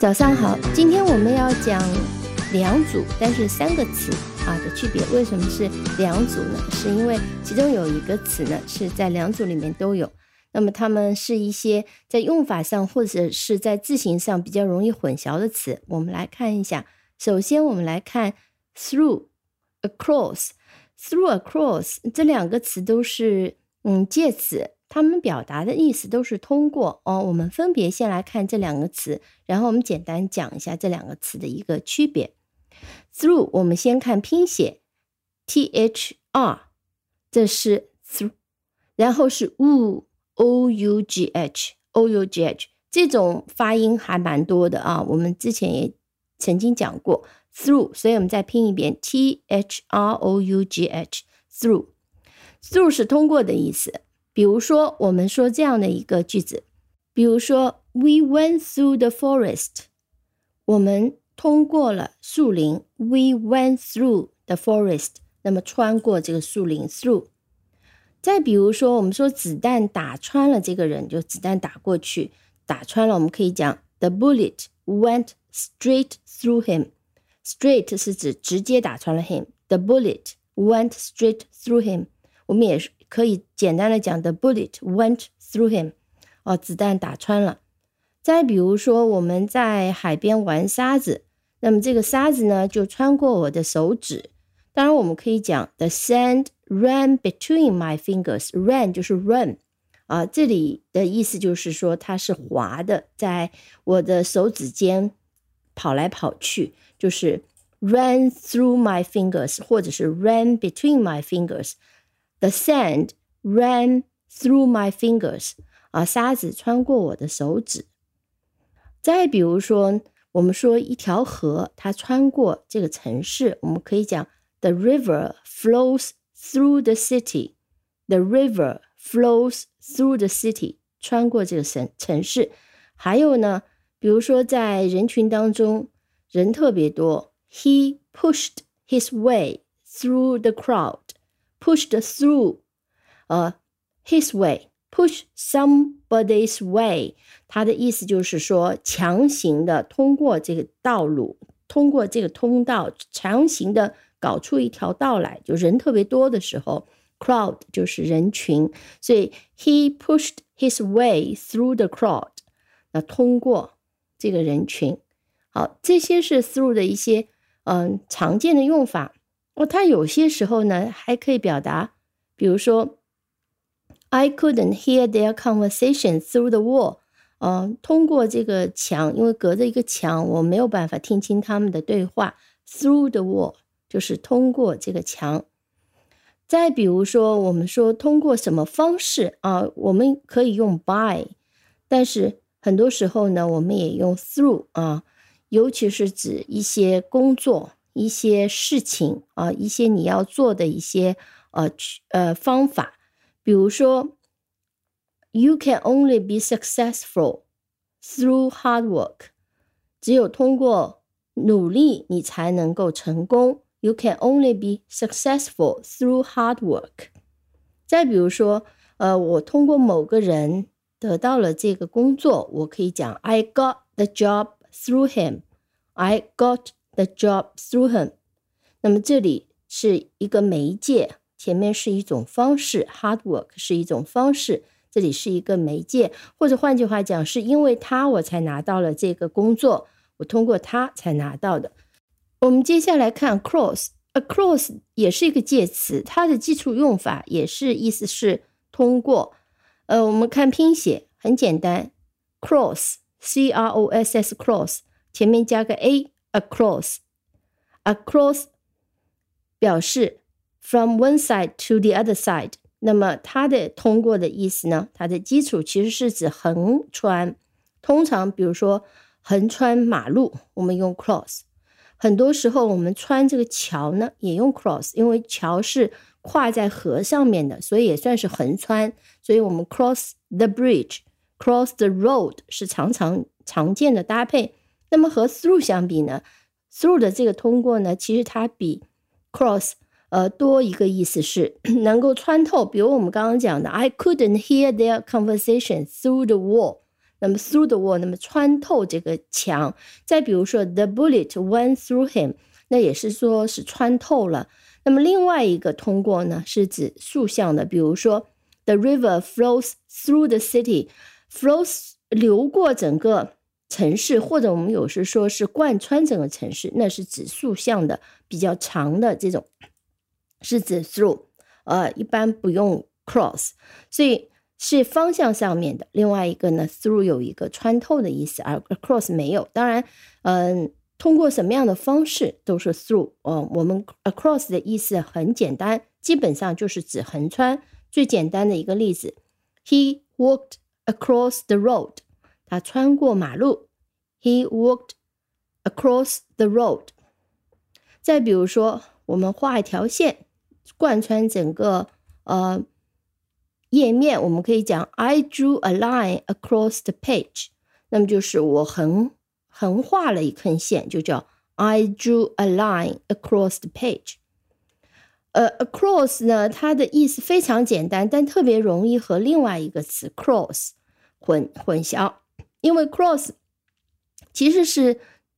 早上好，今天我们要讲两组但是三个词的区别。为什么是两组呢？是因为其中有一个词呢是在两组里面都有，那么它们是一些在用法上或者是在字形上比较容易混淆的词。我们来看一下，首先我们来看 through across。 through across 这两个词都是介词，它们表达的意思都是通过我们分别先来看这两个词，然后我们简单讲一下这两个词的一个区别。 through 我们先看拼写 THR， 这是 through， 然后是 OUGH， 这种发音还蛮多的我们之前也曾经讲过 through， 所以我们再拼一遍 THROUGH through。 through 是通过的意思。比如说我们说这样的一个句子，比如说 We went through the forest， 我们通过了树林， We went through the forest， 那么穿过这个树林 through。 再比如说我们说子弹打穿了这个人，就子弹打过去打穿了，我们可以讲 The bullet went straight through him。 Straight 是指直接打穿了 him， The bullet went straight through him。 我们也可以简单的讲 The bullet went through him， 子弹打穿了。再比如说我们在海边玩沙子，那么这个沙子呢就穿过我的手指，当然我们可以讲 The sand ran between my fingers。 Ran 就是 run，这里的意思就是说它是滑的，在我的手指间跑来跑去，就是 ran through my fingers 或者是 ran between my fingers。The sand ran through my fingers，沙子穿过我的手指。再比如说我们说一条河它穿过这个城市，我们可以讲 The river flows through the city。 The river flows through the city， 穿过这个城市。还有呢，比如说在人群当中人特别多， He pushed his way through the crowd。Pushed through his way， push somebody's way， 它的意思就是说强行的通过这个道路，通过这个通道，强行的搞出一条道来，就人特别多的时候 crowd 就是人群，所以 he pushed his way through the crowd， 那通过这个人群。好，这些是 through 的一些常见的用法。它有些时候呢还可以表达，比如说 I couldn't hear their conversation through the wall， 通过这个墙，因为隔着一个墙我没有办法听清他们的对话， through the wall 就是通过这个墙。再比如说我们说通过什么方式我们可以用 by， 但是很多时候呢我们也用 through， 尤其是指一些工作，一些事情一些你要做的一些方法。比如说 You can only be successful through hard work， 只有通过努力你才能够成功。 You can only be successful through hard work。 再比如说我通过某个人得到了这个工作，我可以讲 I got the job through him。 I got the job through him。 那么这里是一个媒介，前面是一种方式， hard work 是一种方式，这里是一个媒介，或者换句话讲是因为他我才拿到了这个工作，我通过他才拿到的。我们接下来看 across。 across 也是一个介词，它的基础用法也是意思是通过。我们看拼写很简单， cross C-R-O-S-S cross 前面加个 A across。 Across 表示 from one side to the other side， 那么它的通过的意思呢，它的基础其实是指横穿。通常比如说横穿马路我们用 cross， 很多时候我们穿这个桥呢也用 cross， 因为桥是跨在河上面的，所以也算是横穿，所以我们 cross the bridge cross the road 是常见的搭配。那么和 through 相比呢， through 的这个通过呢，其实它比 cross多一个意思是能够穿透。比如我们刚刚讲的 I couldn't hear their conversation through the wall， 那么 through the wall 那么穿透这个墙。再比如说 the bullet went through him， 那也是说是穿透了。那么另外一个通过呢是指竖向的，比如说 the river flows through the city， flows 流过整个城市，或者我们有时说是贯穿整个城市，那是指竖向的比较长的这种是指 through， 一般不用 cross， 所以是方向上面的。另外一个呢 through 有一个穿透的意思，而 across 没有。当然通过什么样的方式都是 through，我们 across 的意思很简单，基本上就是指横穿。最简单的一个例子 He walked across the road， 他穿过马路 He walked across the road。 再比如说我们画一条线贯穿整个页面，我们可以讲 I drew a line across the page， 那么就是我横画了一根线，就叫 I drew a line across the page。 across 呢，它的意思非常简单，但特别容易和另外一个词 cross 混淆，因为 cross 其实是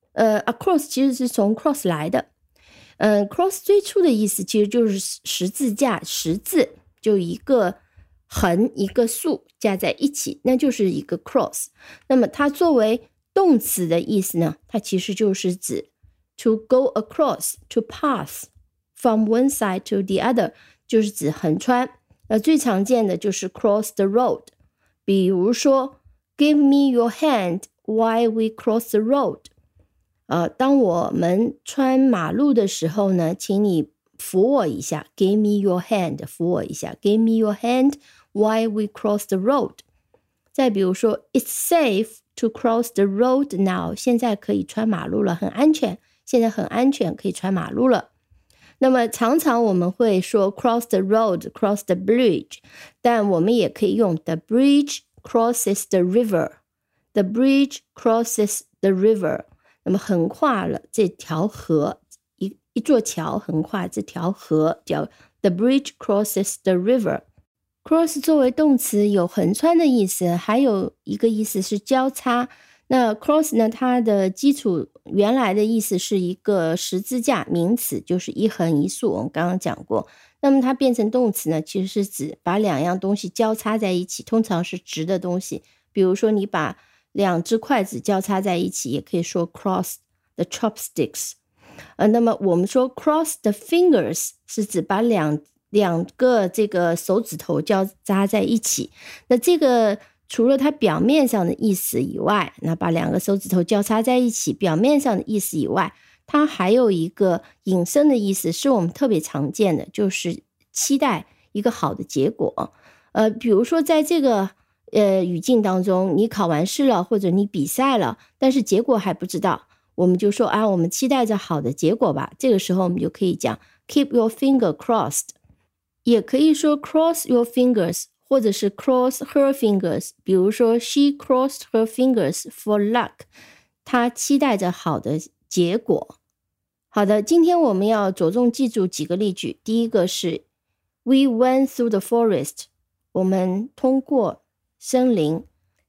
across 其实是从 cross 来的。cross 最初的意思其实就是十字架，十字就一个横一个竖加在一起，那就是一个 cross。 那么它作为动词的意思呢，它其实就是指 to go across， to pass from one side to the other， 就是指横穿。最常见的就是 cross the road， 比如说 give me your hand while we cross the road，当我们穿马路的时候呢，请你扶我一下 give me your hand， 扶我一下 give me your hand while we cross the road。 再比如说 it's safe to cross the road now， 现在可以穿马路了，很安全，现在很安全，可以穿马路了。那么常常我们会说 cross the road cross the bridge， 但我们也可以用 the bridge crosses the river， the bridge crosses the river，那么横跨了这条河，一座桥横跨这条河，叫 the bridge crosses the river。 cross 作为动词有横穿的意思，还有一个意思是交叉。那 cross 呢，它的基础原来的意思是一个十字架，名词就是一横一竖，我们刚刚讲过。那么它变成动词呢，其实是指把两样东西交叉在一起，通常是直的东西。比如说你把两只筷子交叉在一起，也可以说 cross the chopsticks。那么我们说 cross the fingers 是指把两个这个手指头交叉在一起。那这个除了它表面上的意思以外，那把两个手指头交叉在一起表面上的意思以外，它还有一个引申的意思，是我们特别常见的，就是期待一个好的结果。比如说在这个语境当中，你考完试了，或者你比赛了，但是结果还不知道，我们就说我们期待着好的结果吧。这个时候我们就可以讲 keep your finger crossed， 也可以说 cross your fingers， 或者是 cross her fingers。 比如说 she crossed her fingers for luck， 她期待着好的结果。好的，今天我们要着重记住几个例句。第一个是 we went through the forest， 我们通过森林。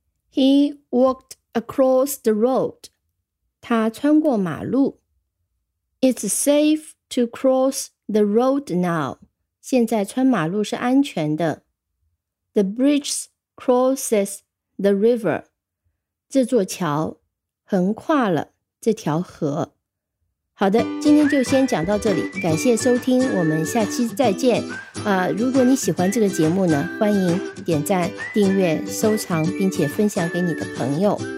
He walked across the road， 他穿过马路。 It's safe to cross the road now， 现在穿马路是安全的。 The bridge crosses the river， 这座桥横跨了这条河。好的，今天就先讲到这里，感谢收听，我们下期再见。如果你喜欢这个节目呢，欢迎点赞、订阅、收藏，并且分享给你的朋友。